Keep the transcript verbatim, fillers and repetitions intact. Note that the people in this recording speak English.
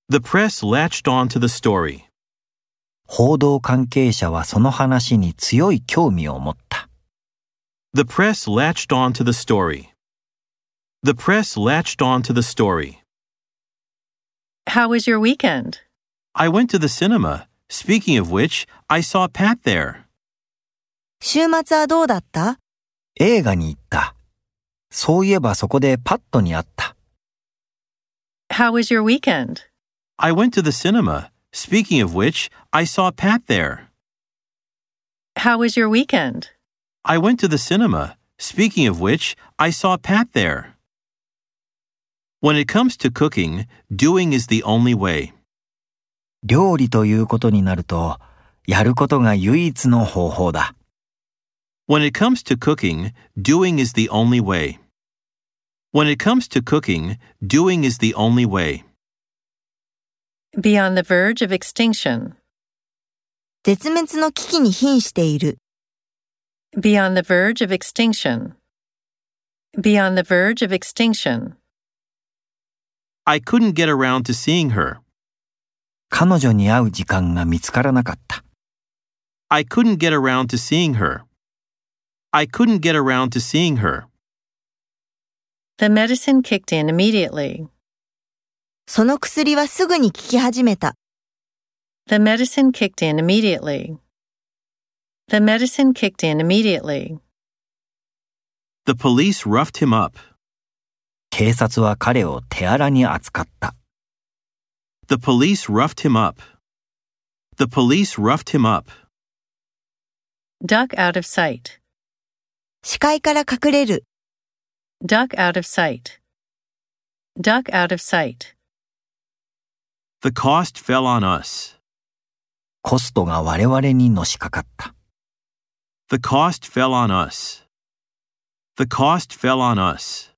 The press latched on to the story. 報道関係者はその話に強い興味を持った。 The press latched on to the story. The press latched on to the story. How was your weekend? I went to the cinema. Speaking of which, I saw Pat there. 週末はどうだった？ 映画に行った。そういえばそこでパットに会った。 How was your weekend? I went to the cinema. Speaking of which, I saw Pat there. How was your weekend? I went to the cinema. Speaking of which, I saw Pat there. When it comes to cooking, doing is the only way. 料理ということになると、やることが唯一の方法だ。 When it comes to cooking, doing is the only way. When it comes to cooking, doing is the only way. Be on the verge of extinction. 絶滅の危機に瀕している。 Be on the verge of extinction. Be on the verge of extinction. I couldn't get around to seeing her. 彼女に会う時間が見つからなかった。 I couldn't get around to seeing her. I couldn't get around to seeing her. The medicine kicked in immediately. その薬はすぐに効き始めた。 The medicine kicked in immediately. The medicine kicked in immediately. The police roughed him up. 警察は彼を手荒に扱った。 The police roughed him up. The police roughed him up. Duck out of sight. 視界から隠れる。 Duck out of sight. Duck out of sight. The cost fell on us. コストが我々にのしかかった。 The cost fell on us. The cost fell on us.